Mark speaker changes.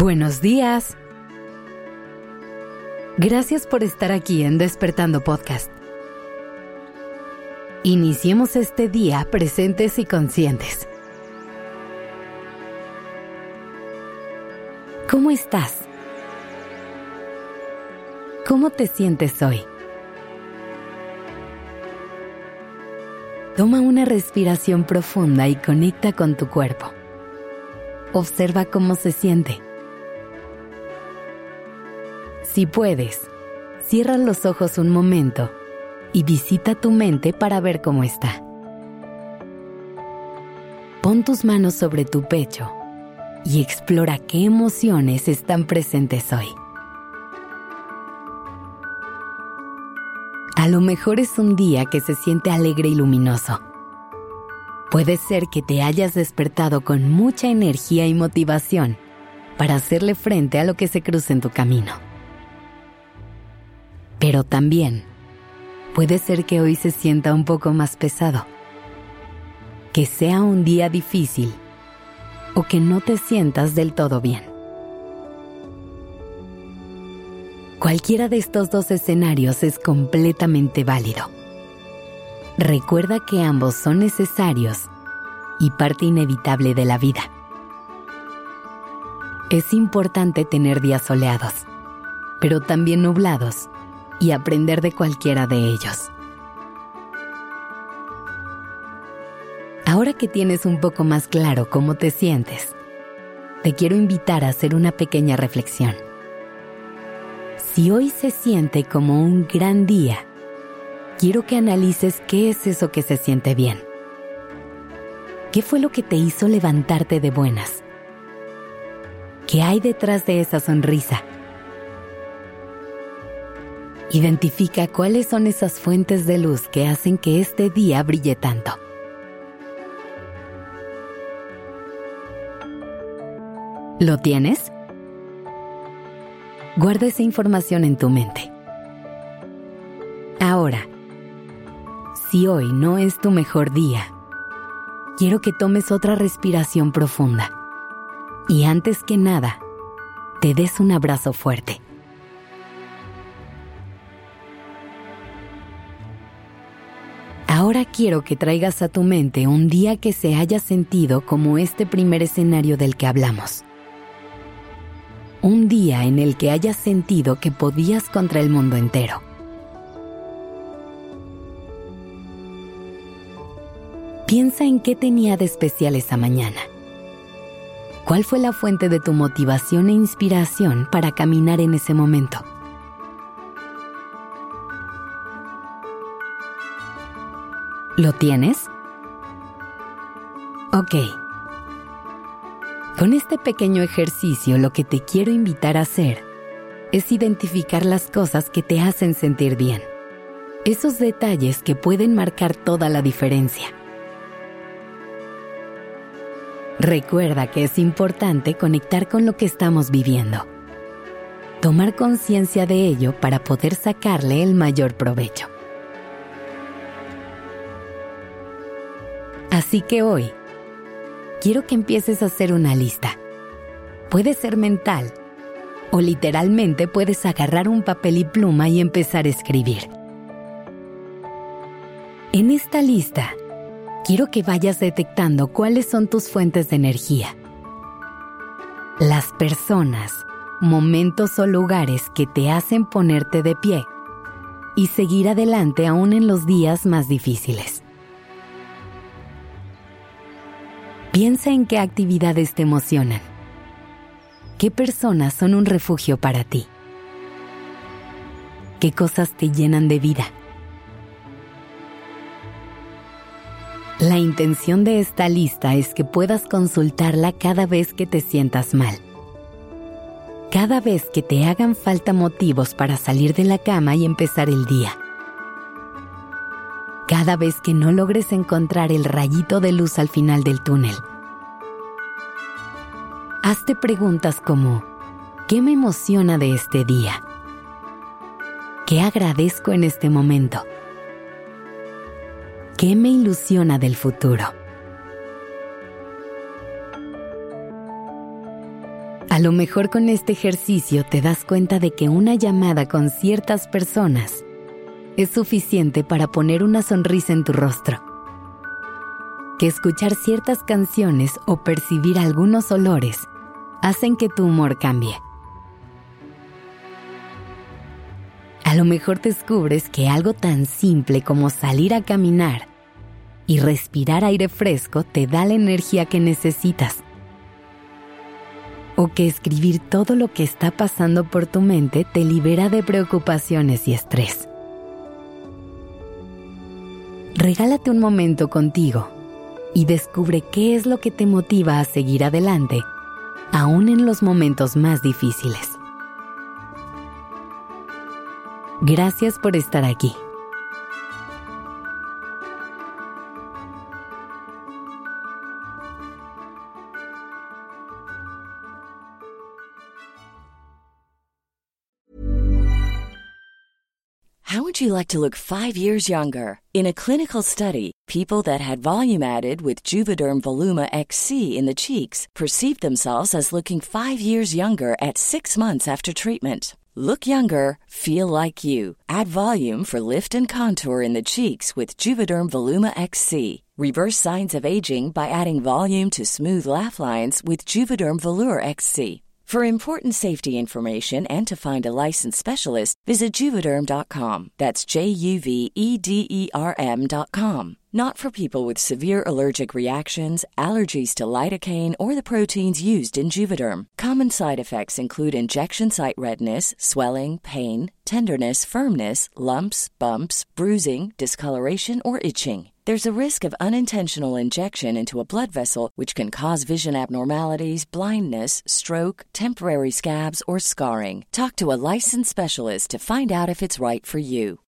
Speaker 1: Buenos días. Gracias por estar aquí en Despertando Podcast. Iniciemos este día presentes y conscientes. ¿Cómo estás? ¿Cómo te sientes hoy? Toma una respiración profunda y conecta con tu cuerpo. Observa cómo se siente. Si puedes, cierra los ojos un momento y visita tu mente para ver cómo está. Pon tus manos sobre tu pecho y explora qué emociones están presentes hoy. A lo mejor es un día que se siente alegre y luminoso. Puede ser que te hayas despertado con mucha energía y motivación para hacerle frente a lo que se cruce en tu camino. Pero también puede ser que hoy se sienta un poco más pesado, que sea un día difícil o que no te sientas del todo bien. Cualquiera de estos dos escenarios es completamente válido. Recuerda que ambos son necesarios y parte inevitable de la vida. Es importante tener días soleados, pero también nublados, y aprender de cualquiera de ellos. Ahora que tienes un poco más claro cómo te sientes, te quiero invitar a hacer una pequeña reflexión. Si hoy se siente como un gran día, quiero que analices qué es eso que se siente bien. ¿Qué fue lo que te hizo levantarte de buenas? ¿Qué hay detrás de esa sonrisa? Identifica cuáles son esas fuentes de luz que hacen que este día brille tanto. ¿Lo tienes? Guarda esa información en tu mente. Ahora, si hoy no es tu mejor día, quiero que tomes otra respiración profunda y antes que nada, te des un abrazo fuerte. Ahora quiero que traigas a tu mente un día que se haya sentido como este primer escenario del que hablamos. Un día en el que hayas sentido que podías contra el mundo entero. Piensa en qué tenía de especial esa mañana. ¿Cuál fue la fuente de tu motivación e inspiración para caminar en ese momento? ¿Lo tienes? Ok. Con este pequeño ejercicio lo que te quiero invitar a hacer es identificar las cosas que te hacen sentir bien. Esos detalles que pueden marcar toda la diferencia. Recuerda que es importante conectar con lo que estamos viviendo. Tomar conciencia de ello para poder sacarle el mayor provecho. Así que hoy, quiero que empieces a hacer una lista. Puede ser mental, o literalmente puedes agarrar un papel y pluma y empezar a escribir. En esta lista, quiero que vayas detectando cuáles son tus fuentes de energía. Las personas, momentos o lugares que te hacen ponerte de pie y seguir adelante aún en los días más difíciles. Piensa en qué actividades te emocionan. ¿Qué personas son un refugio para ti? ¿Qué cosas te llenan de vida? La intención de esta lista es que puedas consultarla cada vez que te sientas mal. Cada vez que te hagan falta motivos para salir de la cama y empezar el día. Cada vez que no logres encontrar el rayito de luz al final del túnel. Hazte preguntas como, ¿qué me emociona de este día? ¿Qué agradezco en este momento? ¿Qué me ilusiona del futuro? A lo mejor con este ejercicio te das cuenta de que una llamada con ciertas personas es suficiente para poner una sonrisa en tu rostro. Que escuchar ciertas canciones o percibir algunos olores hacen que tu humor cambie. A lo mejor descubres que algo tan simple como salir a caminar y respirar aire fresco te da la energía que necesitas. O que escribir todo lo que está pasando por tu mente te libera de preocupaciones y estrés. Regálate un momento contigo y descubre qué es lo que te motiva a seguir adelante, aún en los momentos más difíciles. Gracias por estar aquí.
Speaker 2: How would you like to look 5 years younger? In a clinical study, people that had volume added with Juvederm Voluma XC in the cheeks perceived themselves as looking 5 years younger at 6 months after treatment. Look younger, feel like you. Add volume for lift and contour in the cheeks with Juvederm Voluma XC. Reverse signs of aging by adding volume to smooth laugh lines with Juvederm Volure XC. For important safety information and to find a licensed specialist, visit Juvederm.com. That's JUVEDERM.com. Not for people with severe allergic reactions, allergies to lidocaine, or the proteins used in Juvederm. Common side effects include injection site redness, swelling, pain, tenderness, firmness, lumps, bumps, bruising, discoloration, or itching. There's a risk of unintentional injection into a blood vessel, which can cause vision abnormalities, blindness, stroke, temporary scabs, or scarring. Talk to a licensed specialist to find out if it's right for you.